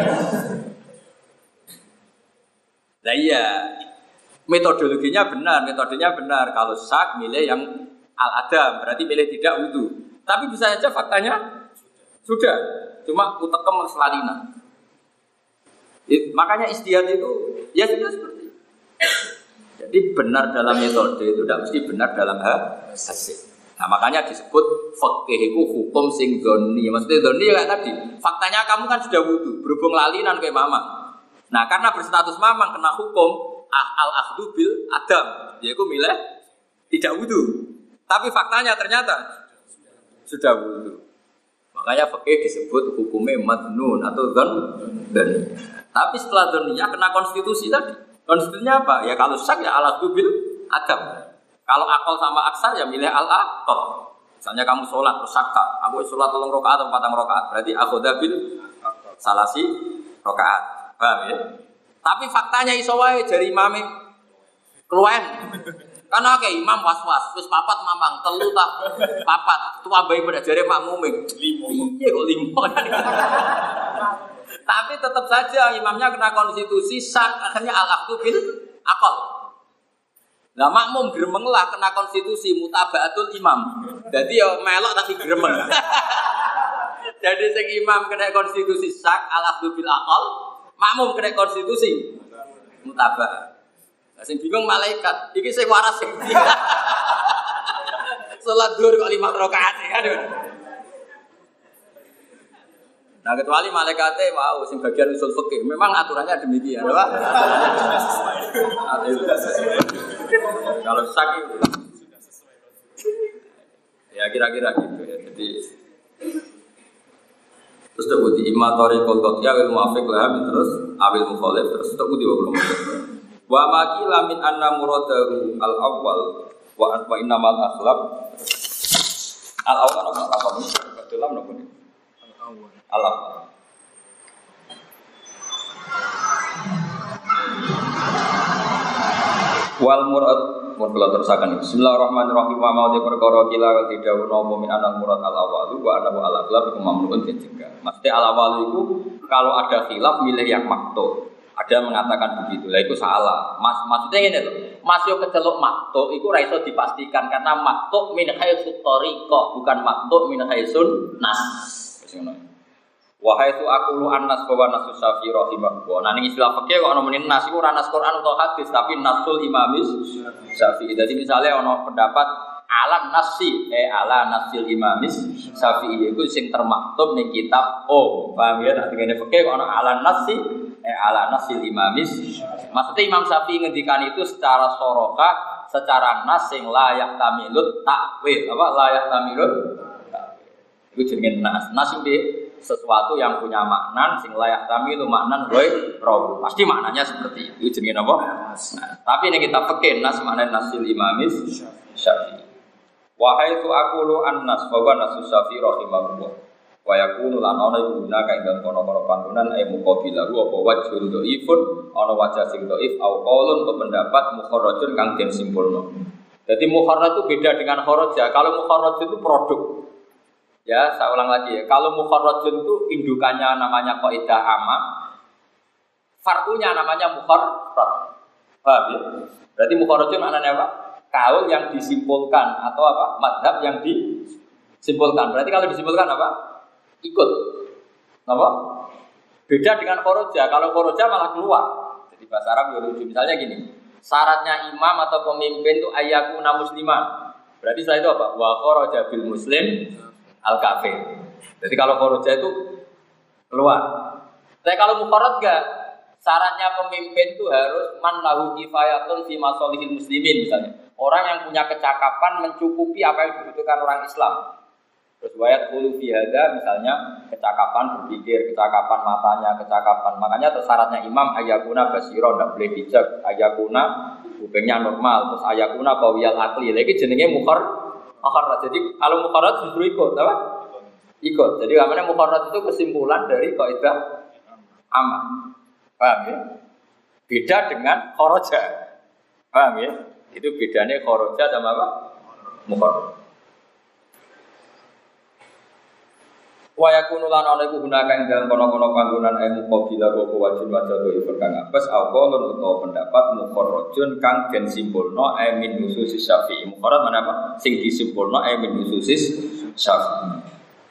Nah iya, metodologinya benar, metodenya benar. Kalau syak milih yang al-adam, berarti milih tidak wudu. Tapi bisa saja faktanya sudah, cuma otak kamu lalinan. Makanya istihad itu ya sudah seperti itu. Jadi benar dalam metode itu tidak mesti benar dalam hasil. Nah makanya disebut fikih itu hukum sing dzonni. Maksudnya dzonni ya kayak tadi. Faktanya kamu kan sudah wudu, berhubung lalinan kayak mama. Nah karena berstatus mamang kena hukum al-akhdhu bil adam, yaitu milih tidak wudu. Tapi faktanya ternyata sudah wudu. Makanya fikih disebut hukumnya madnun atau dzonni. Tapi setelah dzonninya kena konstitusi tadi. Konstitusinya apa? Ya kalau syak ya al-akhdhu bil adam. Kalau akal sama aksar ya milih al-akal. Misalnya kamu sholat terus sakta, aku sholat 3 rakaat atau 4 rakaat, berarti akhudha bil salasi rakaat. Paham ya? Tapi faktanya iso wae jari imame keluwen. Karena kayak imam was-was, wis 4 mamang, 3 tak 4. Tua bayi pada jari makmume 5. Iya kok 5. Tapi tetap saja imamnya kena konstitusi syak, akhirnya al-akhdhu bil aqal. Lah makmum gremeng lah kena konstitusi mutabaatul imam. Jadi ya melok tapi gremeng. Jadi sing imam kena konstitusi syak al-akhdhu bil aqal, makmum kena konstitusi mutabaa. Lah sing bingung malaikat, iki sing waras sing ndi? Salat zuhur kok 5 rakaat aduh. Nah kecuali malaikatnya mau sing bagian usul fikih, memang aturannya demikian, apa? Kalau sakit, ya kira-kira gitu ya. Jadi terus terbukti imatori kolkot ya wil muafiq lah terus awil mukhalif terus terbukti belum. Wa makila min anna muradahu al awwal wa innamal akhlaq al awwal apa ini? Dalam nopo ini? Al awwal. Wal murad mula terusakan Bismillahirrahmanirrahim wa mau perkara kila tidak nopo min anal murad al awwal wa anahu al akhlaq iku mamnuun dan juga. Maksudnya al awwal itu kalau ada khilaf milih yang makto. Ada mengatakan begitu, lah itu salah. Maksudnya ini loh, masuk kecelok makto, itu raiso dipastikan karena makto min haitsu thariqah, bukan makto min haitsun nas. Wahai tu aku lu anas bahwa nasus Syafi'i rahimahullah. Nah ini istilah fikih kok ana muni nas iku ora nas Quran atau hadis, tapi nasul imamis Syafi'i. Jadi misalnya ana pendapat ala nasi, ala nasil imamis Syafi'i itu sing termaktub ning kitab paham ya? Nah dengan fikih kok ana ala nasi ala nasil imamis. Maksudnya Imam Syafi'i ngendikan itu secara soroka, secara nas sing layak tamilut takwil. Apa layak tamilut takwil? Itu jenenge nas. Nas itu sesuatu yang punya makna sing layak tamilu maknan ghair pasti maknanya seperti itu. Itu jenenge apa? Nah, tapi ini kita fikih nas makna nasil imamis Syafi'i. Wahai tu aqulu an-nas bahwa nasus Syafi'i rahimahullah. Wa yakunu lan ana iku guna kae dalem kono-kono panggonan muqabilahu apa wajhul dhaifun ana wajah sing dhaif au qaulun pendapat mukharrajun kang den simpulno. Jadi mukharraj itu beda dengan kharaja. Kalau mukharraj itu produk. Ya, saya ulang lagi ya. Kalau mukharrajun itu indukannya namanya qaidah amma, far'unya namanya mukharraj. Paham ya? Berarti mukharrajun maknanya apa? Kaul yang disimpulkan atau apa? Madhab yang disimpulkan. Berarti kalau disimpulkan apa? Ikut, apa? Beda dengan khoroja. Kalau khoroja malah keluar. Jadi bahasa Arab ya lucu. Misalnya gini, syaratnya imam atau pemimpin itu ayyakuna musliman. Berarti setelah itu apa? Wa khoroja bil muslim al kafir. Jadi kalau khoroja itu keluar. Tapi kalau mukharraj enggak, syaratnya pemimpin itu harus man lahu kifayatun fi masalihil muslimin misalnya. Orang yang punya kecakapan mencukupi apa yang dibutuhkan orang Islam. Terus wayat qulu fi hadza misalnya kecakapan berpikir, kecakapan matanya, kecakapan. Makanya syaratnya imam ayakuna basira, ndak boleh bijak, ayakuna kupingnya normal, terus ayakuna qawiyal aqli. Lagi jenenge mukharraj. Jadi kalau mukharraj justru ikut, apa? Ikut. Jadi namanya mukharraj itu kesimpulan dari kaidah amma. Paham ya? Beda dengan kharaja. Paham ya? Itu bedanya kharaja sama apa? Mukharraj. Wa yakunu lan ana iku gunaka ing dalem kono-kono panggonan muqabilah apa wajib wajib itu kang apes aqalun utawa pendapat mukharrajun kang den simpulno min nususis Syafi'i. Mukharraj mana apa? Sing disimpulno min nususis Syafi'i.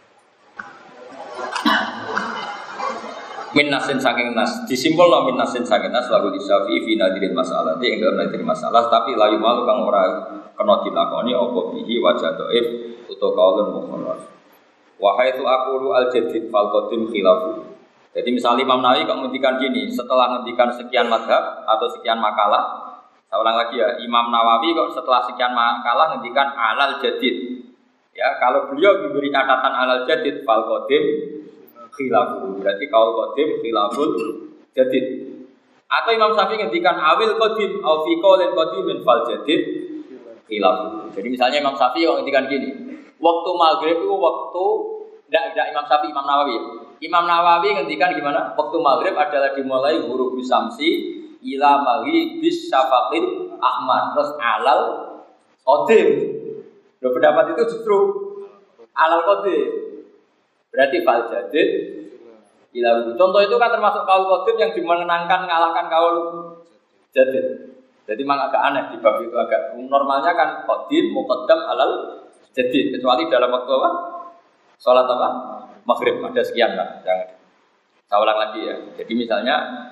Min nasin saking nas disimpulno min nasin saking nas lagu di Syafi'i fi nadirin masalah ing dalem nadirin masalah tapi layu malu kang ora kena dilakoni apa bihi wajah dhaif utawa kaulun mukharraj. Wahai tu aqulu al-jadid fal qadim khilafu. Jadi misalnya Imam Nawawi kok ngendikan gini, setelah ngendikan sekian madhab atau sekian makalah, saya ulang lagi ya, Imam Nawawi kok setelah sekian makalah ngendikan alal jadid. Ya, kalau beliau diberi catatan alal jadid fal qadim khilafu. Berarti kaul qadim khilaful jadid. Atau Imam Syafi'i ngendikan awil qadim au fi qaulin qadimin fal jadid khilafu. Jadi misalnya Imam Syafi'i kok ngendikan gini, waktu maghrib itu waktu tidak Imam Syafi'i, Imam Nawawi. Imam Nawawi ngendikan gimana? Waktu maghrib adalah dimulai huruf samsi ila maghibis syafaqil ahmar terus alal qadim. Loh pendapat itu justru alal qadim. Berarti fal jadid ila. Contoh itu kan termasuk kaul qadim yang dimenangkan ngalahkan kaul jadid. Jadi memang agak aneh di bab itu agak normalnya kan qadim muqaddam alal jadi kecuali dalam waktu apa? Sholat apa? Maghrib ada sekian kan? Jangan. Saya ulang lagi ya. Jadi misalnya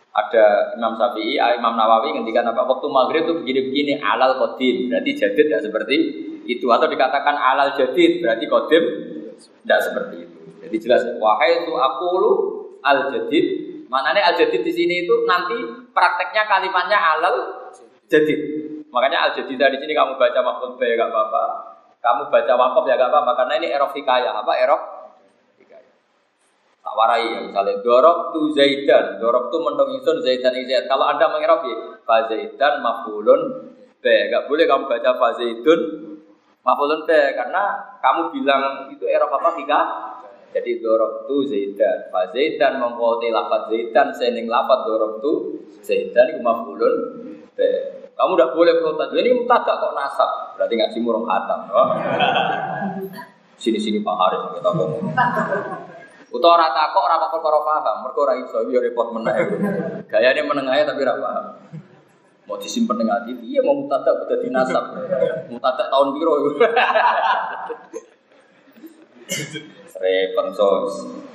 Ada Imam Syafi'i, Imam Nawawi ngendikan apa? Waktu maghrib itu begini-begini alal qadim, berarti jadid tidak seperti itu, atau dikatakan alal jadid berarti qadim tidak seperti itu. Jadi jelas wahai itu aqulu al jadid. Maknanya al jadid di sini itu nanti prakteknya kalimatnya alal jadid. Makanya al jadid di sini kamu baca maf'ul bi enggak apa-apa. Kamu baca waqaf ya enggak apa-apa karena ini i'rab hikayah. Apa i'rab? Hikayah. Tak warai ya misalnya darabtu Zaidan, darabtu mendong ingsun Zaidan ing Zaid. Kalau Anda meng'irab ya fa Zaidan maf'ulun bi. Enggak boleh kamu baca fa Zaidun maf'ulun bi karena kamu bilang itu i'rab apa hikayah. Jadi darabtu Zaidan, fa Zaidan mengko te lafaz Zaidan sening lafaz darabtu Zaidan iku maf'ulun bi. Kamu tidak boleh protes. Ini mubtada kok nasab. Berarti ngaji murung khatam. Oh. Sini-sini Pak Haris kita ngomong. Utawa ora takok ora perkara paham, mergo ora iso yo repot meneh. Gayane meneng ae tapi ora paham. Mau disimpen ning ati, piye mau mubtada kudu dinasab. Mubtada tahun piro iku. Repot sos.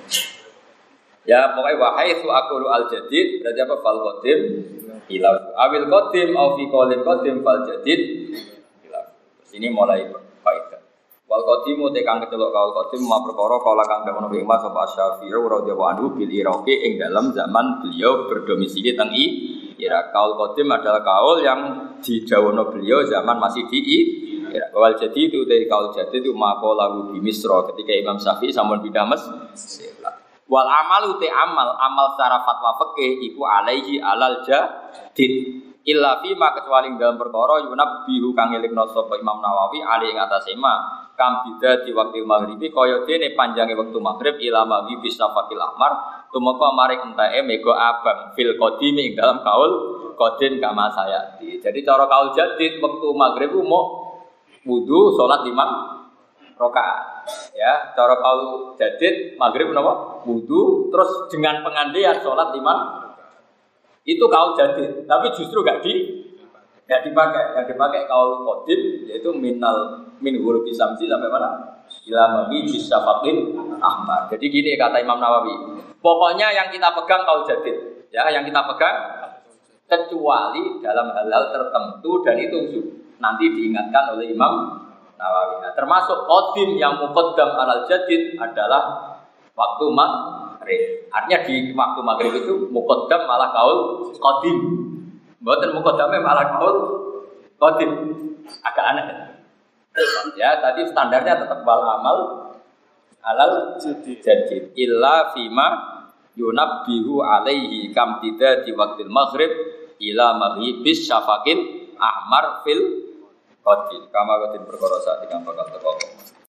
Ya pokoknya wahai su aqulu al jadid berarti apa fal qadim hilaf awil qadim au fi qaulin qadim fal jadid hilaf. Sini mulai faedah. Wal qadimu te kang kecelok kaul qadim ma perkara kala kang dawuh Nabi Muhammad sapa Asy-Syafi'i radhiyallahu anhu bil Iraqi ing dalam zaman beliau berdomisili teng Irak. Kaul qadim adalah kaul yang didhawuhna beliau zaman masih di Irak. Wal jadid itu dari kaul jadid itu maqalahu di Misra ketika Imam Syafi'i sampun pindah Mesir. Wal amalu te amal secara fatwa fikih iku alaihi alal jadid illa fi ma kecuali dalam perkara yunabbihu kang elingno sapa Imam Nawawi ali ing atase ma kam bida di waktu maghribi kaya dene panjange wektu maghrib ila maghribi safaqil ahmar tumeka maring enteke mega abang fil qadim ing dalam kaul qadim kama sayati. Jadi cara kaul jadid wektu maghrib mau wudu salat 5 rakaat. Ya, cara kaul jadid maghrib napa? Wudu terus dengan pengandian salat 5. Itu kaul jadid, tapi justru enggak dipakai. Yang dipakai kaul qadim yaitu min ghurubi samsi sampai mana? Ila maghrib syafaqil ahmar. Jadi gini kata Imam Nawawi. Pokoknya yang kita pegang kaul jadid, ya, yang kita pegang kecuali dalam hal-hal tertentu dan itu nanti diingatkan oleh Imam Nawawi. Nah, termasuk qadim yang muqaddam alal jadid adalah waktu maghrib. Artinya di waktu maghrib itu muqaddam malah kaul qadim. Mboten muqaddame malah kaul qadim. Agak aneh. Ya, tadi standarnya tetap wal amal alal jadid. Illa fima yunabbihu alaihi kam tidak di waktu maghrib ila maghribis syafaqil ahmar fil qadim kama qadim perkara saat bakal teko